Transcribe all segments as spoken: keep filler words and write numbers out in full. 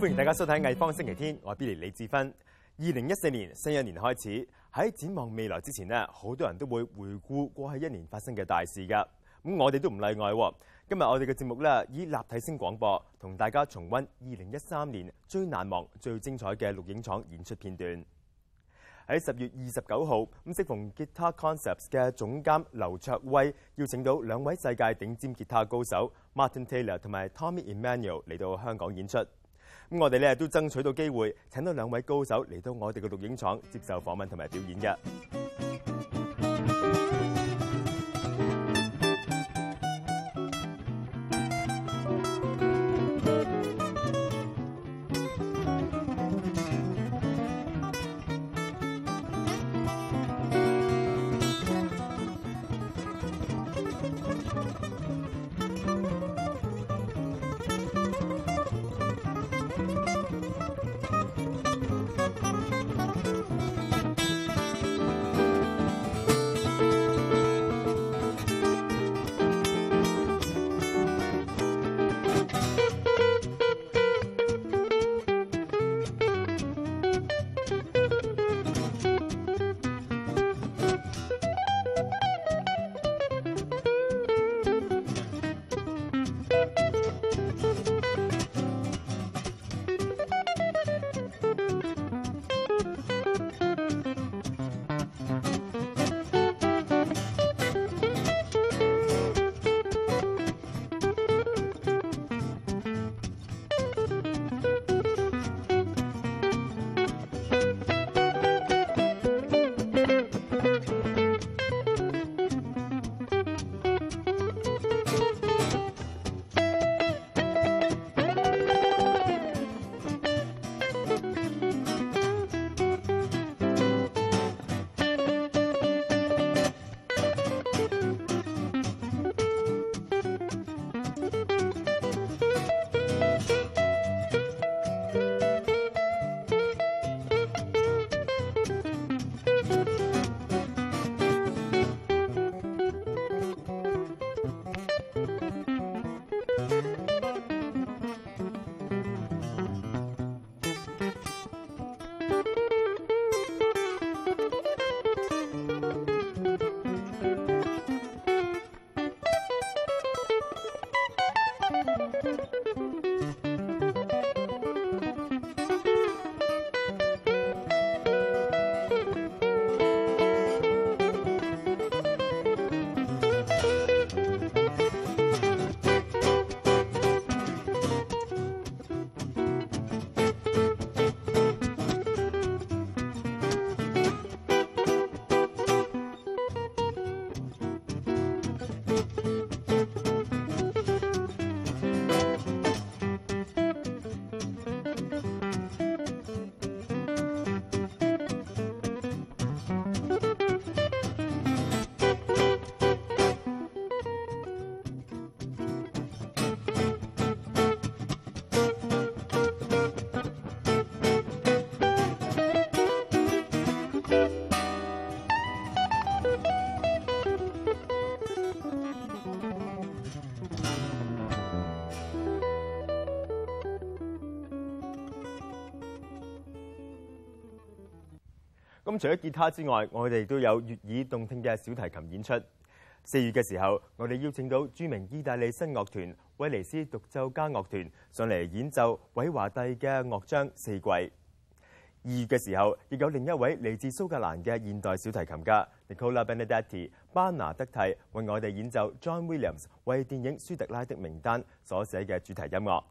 歡迎大家收睇藝方星期天，我係 Billy 李志芬。二零一四年新一年開始，喺展望未來之前呢，好多人都會回顧過去一年發生嘅大事㗎。咁我哋都唔例外喎。今日我哋嘅節目咧，以立體聲廣播同大家重溫二零一三年最難忘、最精彩嘅錄影廠演出片段。喺十月二十九號，咁適逢 Guitar Concepts 嘅總監劉卓威邀請到兩位世界頂尖吉他高手 Martin Taylor 同埋 Tommy Emmanuel 嚟到香港演出。咁我哋咧都爭取到機會請到兩位高手嚟到我哋嘅錄影廠接受訪問同埋表演嘅。咁除咗吉他之外，我哋都有悅耳動聽嘅小提琴演出。四月嘅時候，我哋邀請到著名意大利新樂團威尼斯獨奏家樂團上嚟演奏韋華第嘅樂章《四季》。二月嘅時候，亦有另一位嚟自蘇格蘭嘅現代小提琴家 Nicola Benedetti 班拿德蒂為我哋演奏 John Williams 為電影《舒迪拉的名單》所寫嘅主題音樂。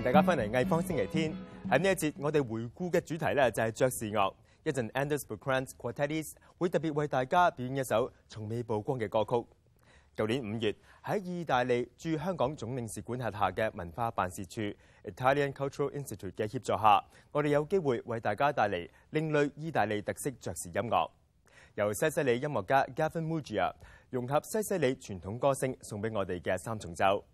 迎大家翻嚟藝坊星期天。喺呢一節，我哋回顧嘅主題咧就係爵士樂。一陣 Anders Buckrant Quartetist 會特別為大家表演一首從未曝光嘅歌曲。舊年五月喺意大利駐香港總領事館轄下嘅文化辦事處 Italian Cultural Institute 嘅協助下，我哋有機會為大家帶嚟另類意大利特色爵士音樂，由西西里音樂家 Gavin Muggia 融合西西里傳統歌聲送俾我哋嘅三重奏。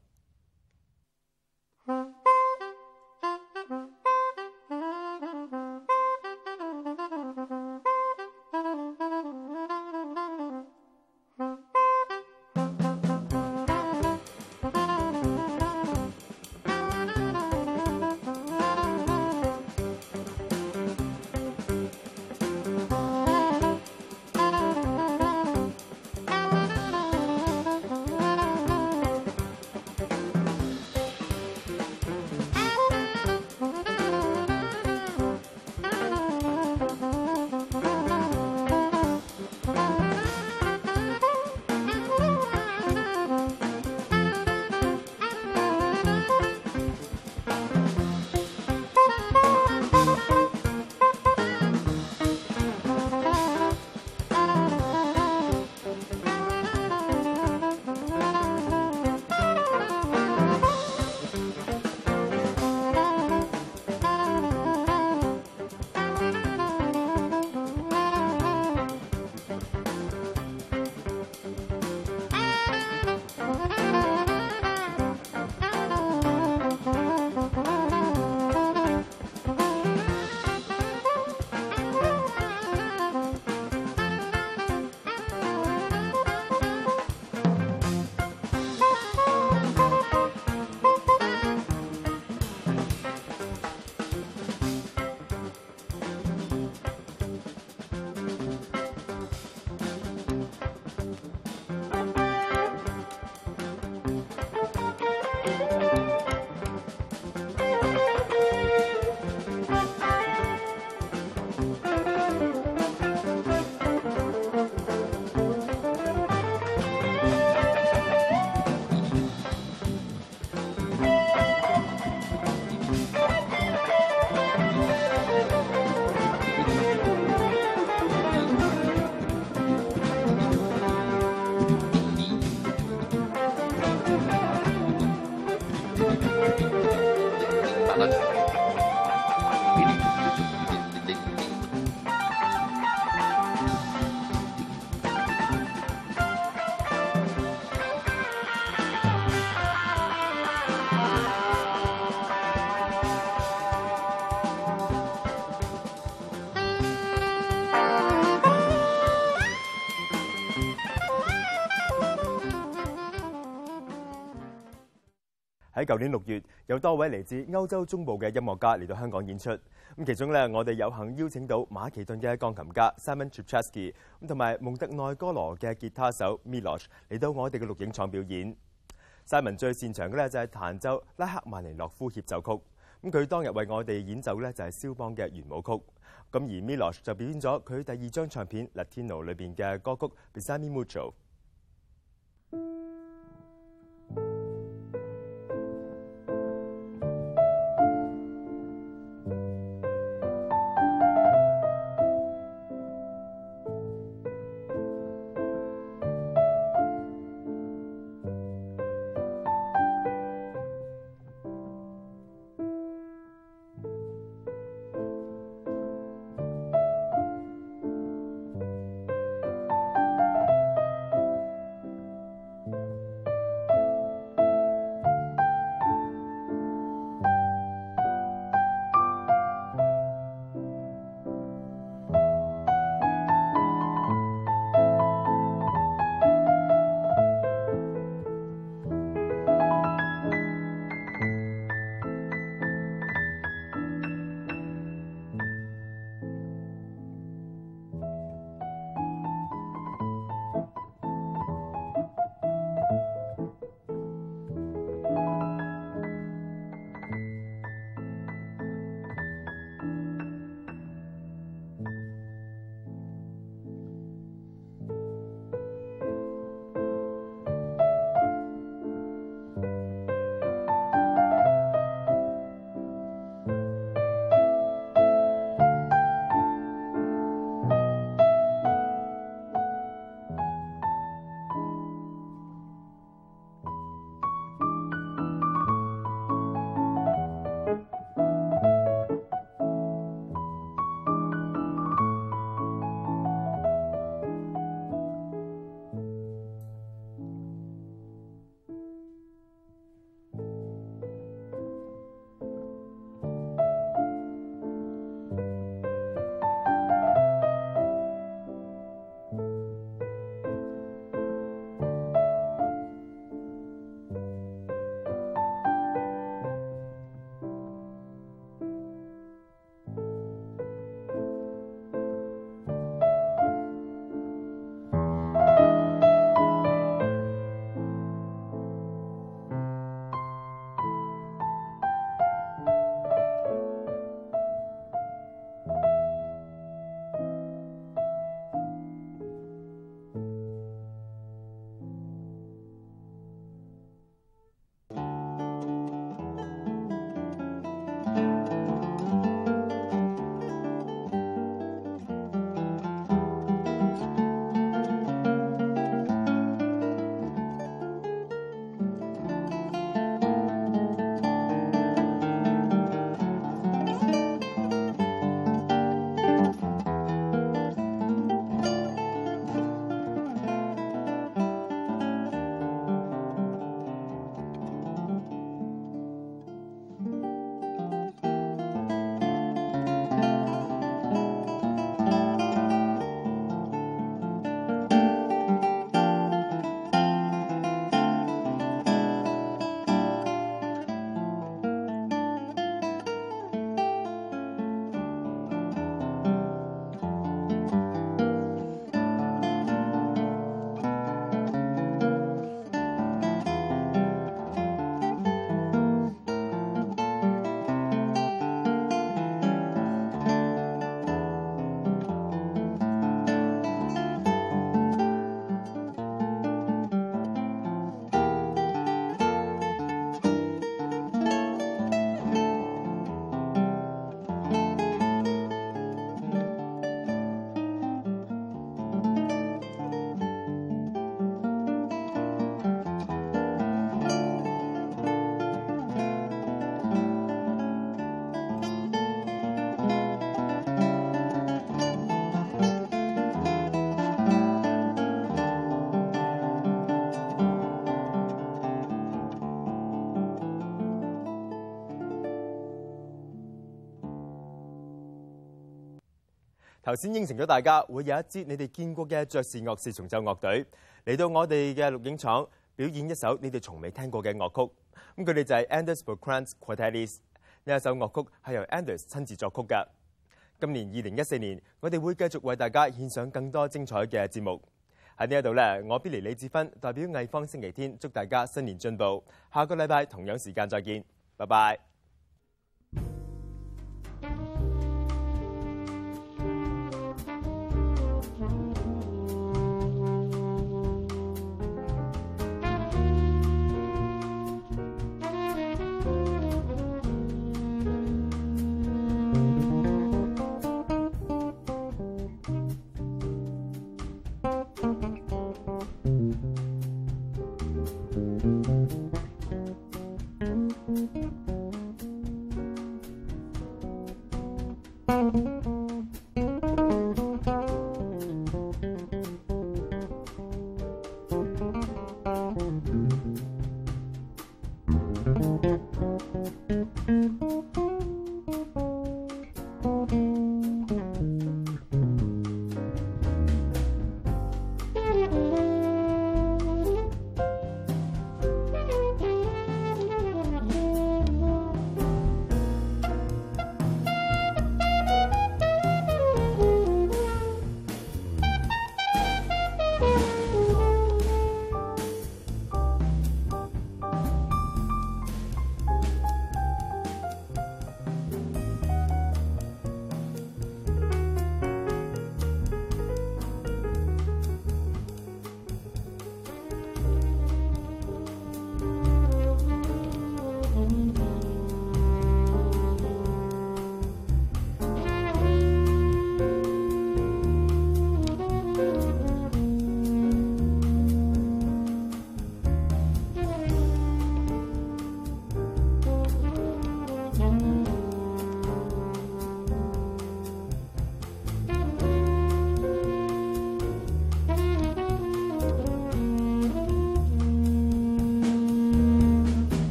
喺舊年六月，有多位嚟自歐洲中部嘅音樂家嚟到香港演出。咁其中咧，我哋有幸邀請到馬其頓嘅鋼琴家 Simon Trzaski 咁同埋蒙特內哥羅嘅吉他手 Milos 嚟到我哋嘅錄影廠表演。Simon 最擅長嘅咧就係彈奏拉赫曼尼諾夫協奏曲。咁佢當日為我哋演奏咧就係肖邦嘅圓舞曲。咁而 Milos 就表演咗佢第二張唱片 Latino 裏邊嘅歌曲 Besame Mucho。 頭先應承咗大家會有一支你哋見過嘅爵士樂四重奏樂隊嚟到我哋嘅錄影廠表演一首你哋從未聽過嘅樂曲。咁佢哋就係 Anders Bokrans Quartetis。呢一首樂曲係由 Anders 親自作曲嘅。今年二零一四年，我哋會繼續為大家獻上更多精彩嘅節目。喺呢一度咧，我 Billy 李志芬代表藝方星期天祝大家新年進步。下個禮拜同樣時間再見，拜拜。Thank you.